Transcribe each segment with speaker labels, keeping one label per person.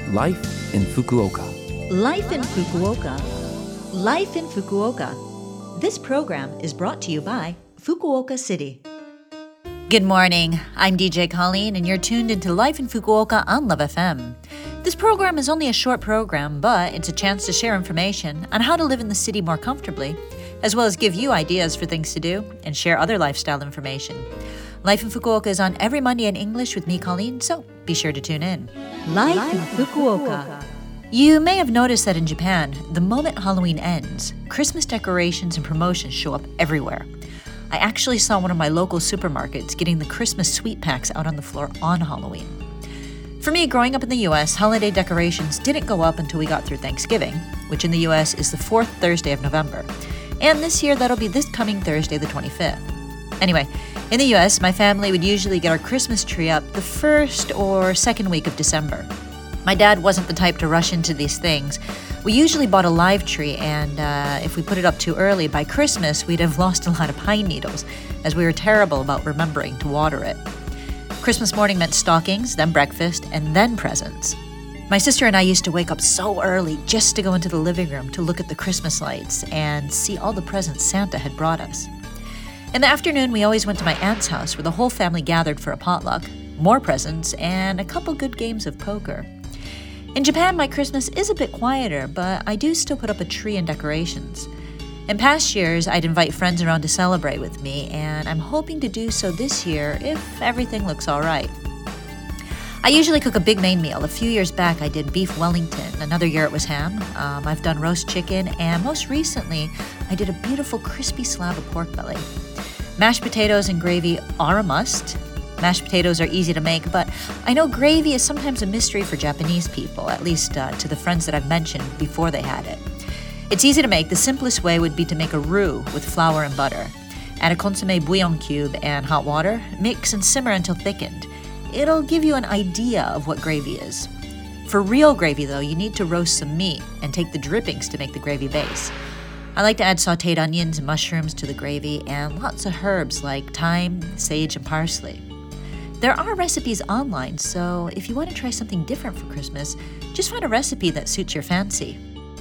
Speaker 1: Life in Fukuoka.
Speaker 2: Life in Fukuoka. Life in Fukuoka. This program is brought to you by Fukuoka City. Good morning. I'm DJ Colleen, and you're tuned into Life in Fukuoka on Love FM. This program is only a short program, but it's a chance to share information on how to live in the city more comfortably, as well as give you ideas for things to do and share other lifestyle information. Life in Fukuoka is on every Monday in English with me, Colleen, so be sure to tune in. Life in Fukuoka. You may have noticed that in Japan, the moment Halloween ends, Christmas decorations and promotions show up everywhere. I actually saw one of my local supermarkets getting the Christmas sweet packs out on the floor on Halloween. For me, growing up in the US, holiday decorations didn't go up until we got through Thanksgiving, which in the US is the fourth Thursday of November. And this year, that'll be this coming Thursday, the 25th. Anyway, in the US, my family would usually get our Christmas tree up the first or second week of December. My dad wasn't the type to rush into these things. We usually bought a live tree, and if we put it up too early, by Christmas, we'd have lost a lot of pine needles, as we were terrible about remembering to water it. Christmas morning meant stockings, then breakfast, and then presents. My sister and I used to wake up so early just to go into the living room to look at the Christmas lights and see all the presents Santa had brought us. In the afternoon, we always went to my aunt's house where the whole family gathered for a potluck, more presents, and a couple good games of poker. In Japan, my Christmas is a bit quieter, but I do still put up a tree and decorations. In past years, I'd invite friends around to celebrate with me, and I'm hoping to do so this year if everything looks all right. I usually cook a big main meal. A few years back, I did beef Wellington. Another year, it was ham. I've done roast chicken, and most recently, I did a beautiful crispy slab of pork belly. Mashed potatoes and gravy are a must. Mashed potatoes are easy to make, but I know gravy is sometimes a mystery for Japanese people, at least to the friends that I've mentioned before they had it. It's easy to make. The simplest way would be to make a roux with flour and butter. Add a consommé bouillon cube and hot water. Mix and simmer until thickened. It'll give you an idea of what gravy is. For real gravy, though, you need to roast some meat and take the drippings to make the gravy base. I like to add sautéed onions and mushrooms to the gravy and lots of herbs like thyme, sage, and parsley. There are recipes online, so if you want to try something different for Christmas, just find a recipe that suits your fancy.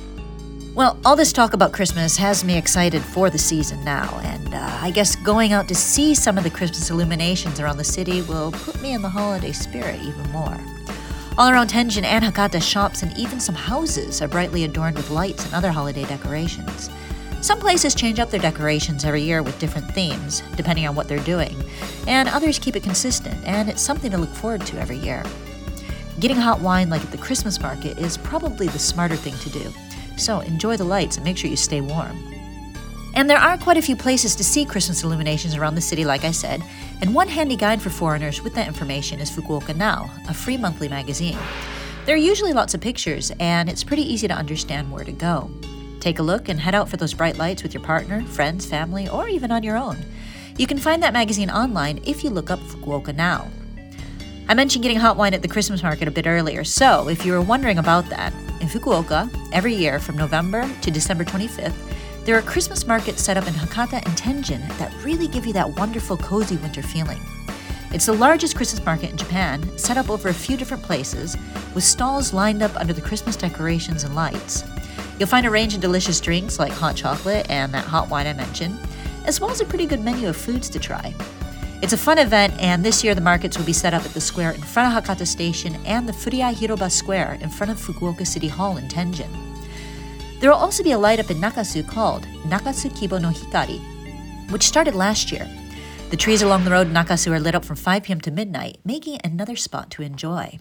Speaker 2: Well, all this talk about Christmas has me excited for the season now, and I guess going out to see some of the Christmas illuminations around the city will put me in the holiday spirit even more. All around Tenjin and Hakata, shops and even some houses are brightly adorned with lights and other holiday decorations. Some places change up their decorations every year with different themes, depending on what they're doing, and others keep it consistent, and it's something to look forward to every year. Getting hot wine like at the Christmas market is probably the smarter thing to do, so enjoy the lights and make sure you stay warm. And there are quite a few places to see Christmas illuminations around the city, like I said, and one handy guide for foreigners with that information is Fukuoka Now, a free monthly magazine. There are usually lots of pictures, and it's pretty easy to understand where to go. Take a look and head out for those bright lights with your partner, friends, family, or even on your own. You can find that magazine online if you look up Fukuoka Now. I mentioned getting hot wine at the Christmas market a bit earlier, so if you were wondering about that, in Fukuoka, every year from November to December 25th, there are Christmas markets set up in Hakata and Tenjin that really give you that wonderful, cozy winter feeling. It's the largest Christmas market in Japan, set up over a few different places, with stalls lined up under the Christmas decorations and lights. You'll find a range of delicious drinks like hot chocolate and that hot wine I mentioned, as well as a pretty good menu of foods to try. It's a fun event, and this year the markets will be set up at the square in front of Hakata Station and the Furiai Hiroba Square in front of Fukuoka City Hall in Tenjin. There will also be a light up in Nakasu called Nakasu Kibo no Hikari, which started last year. The trees along the road in Nakasu are lit up from 5 p.m. to midnight, making it another spot to enjoy.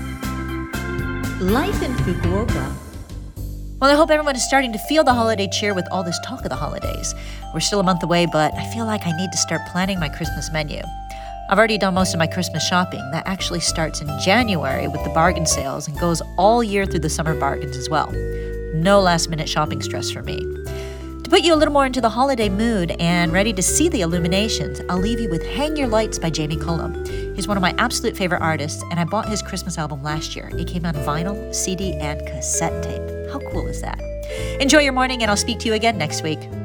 Speaker 2: Life in Fukuoka. Well, I hope everyone is starting to feel the holiday cheer with all this talk of the holidays. We're still a month away, but I feel like I need to start planning my Christmas menu. I've already done most of my Christmas shopping. That actually starts in January with the bargain sales and goes all year through the summer bargains as well. No last-minute shopping stress for me. To put you a little more into the holiday mood and ready to see the illuminations, I'll leave you with Hang Your Lights by Jamie Cullum. He's one of my absolute favorite artists, and I bought his Christmas album last year. It came on vinyl, CD, and cassette tape. How cool is that? Enjoy your morning, and I'll speak to you again next week.